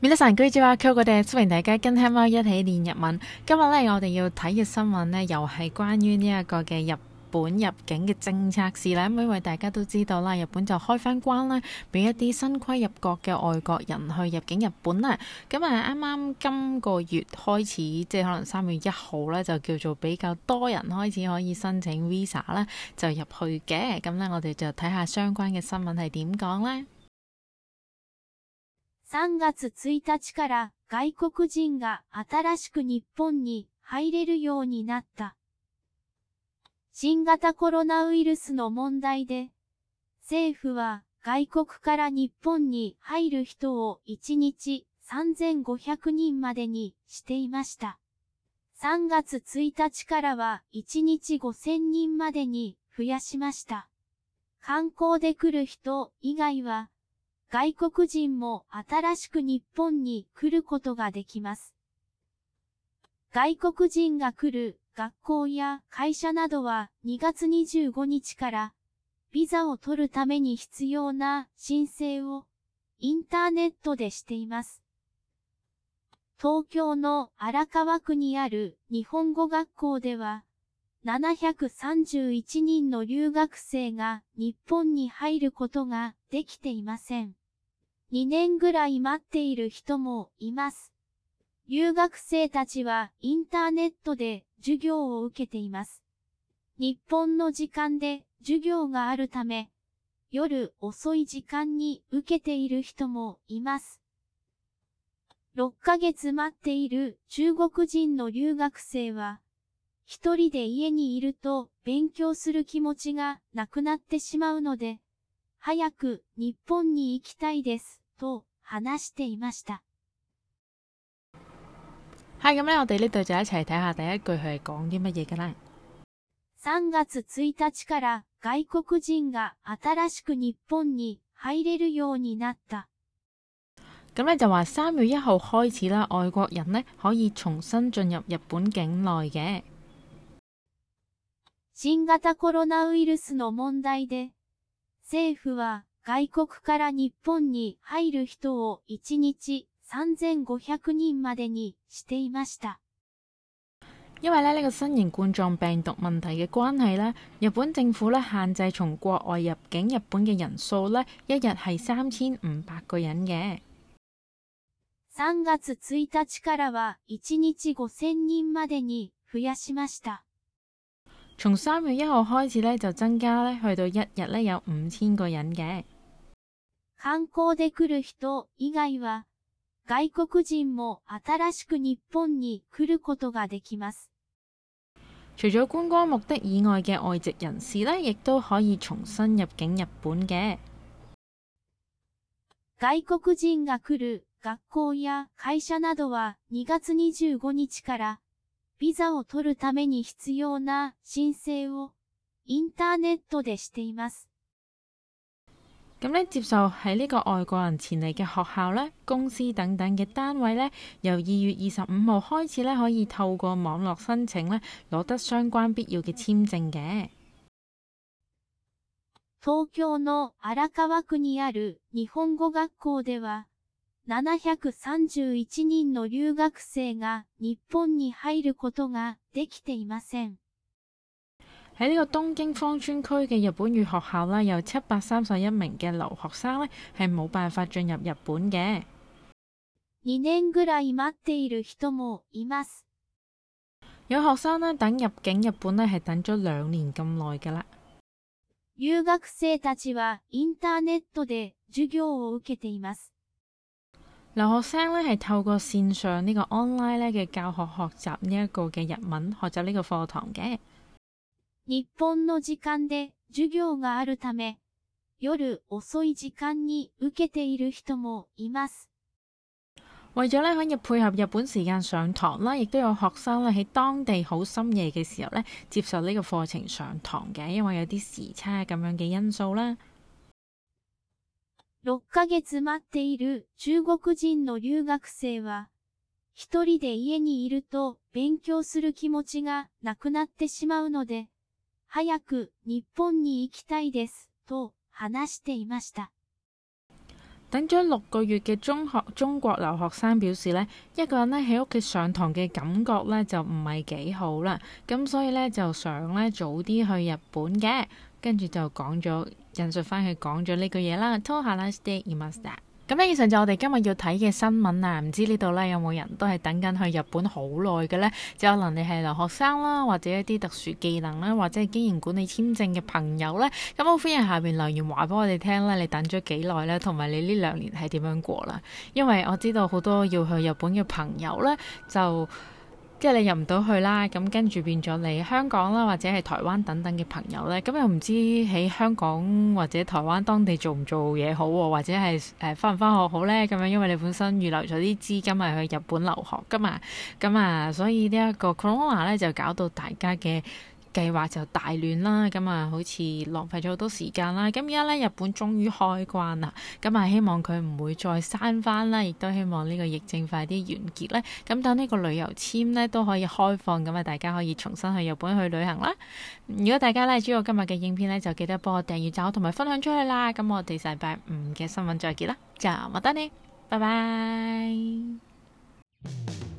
皆さんこんにちは，歡迎大家跟黑貓一起練日文。今日咧，我哋要睇嘅新聞咧，又係關於呢一個嘅日本入境嘅政策事啦。因為大家都知道啦，日本就開翻關啦，俾一啲新規入國嘅外國人去入境日本啦。咁啱啱今個月開始，即係可能3月1號咧，就叫做比較多人開始可以申請 visa 啦，就入去嘅。咁咧，我哋就睇下相關嘅新聞係點講咧。 3月1日から外國人が新しく日本に入れるようになった。新型コロナウイルスの問題で、政府は外国から日本に入る人を1日3500人までにしていました。3月1日からは1日5000人までに増やしました。観光で来る人以外は、外国人も新しく日本に来ることができます。外国人が来る学校や会社などは2月25日からビザを取るために必要な申請をインターネットでしています。東京の荒川区にある日本語学校では731人の留学生が日本に入ることができていません。2年ぐらい待っている人もいます。留学生たちはインターネットで授業を受けています。日本の時間で授業があるため、夜遅い時間に受けている人もいます。6ヶ月待っている中国人の留学生は、一人で家にいると勉強する気持ちがなくなってしまうので、早く日本に行きたいですと話していました。 係咁咧，我哋呢度就一齊睇下第一句佢係講啲乜嘢㗎啦。 3月1日から外國人が新しく日本に入れるようになった。 咁咧就話3月1號開始啦，外國人呢可以重新進入日本境內嘅。 新型コロナウイルスの問題で、政府は外国から日本に入る人を1日3500人までにしていました。 因為呢個新型冠狀病毒問題嘅關係呢，日本政府呢限制從國外入境日本嘅人數呢，一日係3500個人嘅。 3月1日からは1日5000人までに増やしました。 從3月1號開始呢，就增加呢，去到一日呢有5000個人嘅。 観光で來る人以外は、外國人も新しく日本に來ることができます。 除咗觀光目的以外嘅外籍人士呢，亦都可以重新入境日本嘅。 外國人が來る學校や會社などは2月25日からビザを取るために必要な申請をインターネットでしています。 咁呢，接受喺呢個外國人前嚟嘅學校呢、公司等等嘅單位呢，由2月25號開始呢，可以透過網絡申請呢，攞得相關必要嘅簽證嘅。 東京の荒川區にある日本語學校では、731人の留學生が日本に入ることができていません。 喺呢個東京芳村區嘅日本語學校啦，有731名嘅留學生呢，係冇辦法進入日本嘅。 2年ぐらい待っている人もいます。 有學生呢，等入境日本呢，係等咗2年咁耐㗎啦。 留學生たちはインターネットで授業を受けています。 留學生呢，係透過線上呢個 online 呢嘅教學學習呢一個嘅日文，學習呢個課堂嘅。 日本の時間で授業があるため、夜遅い時間に受けている人もいます。 為咗呢可以配合日本時間上堂啦，亦都有學生呢喺當地好深夜嘅時候呢接受呢個課程上堂嘅，因為有啲時差咁樣嘅因素啦。 6ヶ月待っている中國人の留學生は、一人で家にいると勉強する気持ちがなくなってしまうので、早く日本に行きたいですと話していました。 等咗6個月嘅中國留學生表示呢，一個人呢喺屋企上堂嘅感覺呢就唔係幾好啦，咁所以呢，就想呢早啲去日本嘅，跟住就講咗引述翻佢講咗呢句嘢啦。と話していました。咁呢，以上就我哋今日要睇嘅新聞啊！唔知呢度呢，有冇人都係等緊去日本好耐嘅呢？就可能你係留學生啦，或者一啲特殊技能啦，或者係經營管理簽證嘅朋友呢。咁我歡迎下邊留言話俾我哋聽啦，你等咗幾耐呢？同埋你呢2年係點樣過啦？因為我知道好多要去日本嘅朋友呢，就即係你入唔到去啦，咁跟住變咗你香港啦，或者係台灣等等嘅朋友呢，咁又唔知喺香港或者台灣當地做唔做嘢好，或者係返唔返學好呢？咁樣因為你本身預留咗啲資金係去日本留學噶嘛，咁啊，所以呢一個 Corona 呢就搞到大家嘅計劃就大亂啦，咁啊好似浪費咗好多時間啦。咁而家咧日本終於開關啦，咁啊希望佢唔會再閂翻啦，亦都希望呢個疫症快啲完結咧。咁等呢個旅遊簽咧都可以開放，咁啊大家可以重新去日本去旅行啦。如果大家咧中意我今日嘅影片咧，就記得幫我訂閱、讚同埋分享出去啦。咁我哋禮拜5嘅新聞再見啦，就冇得你，拜拜。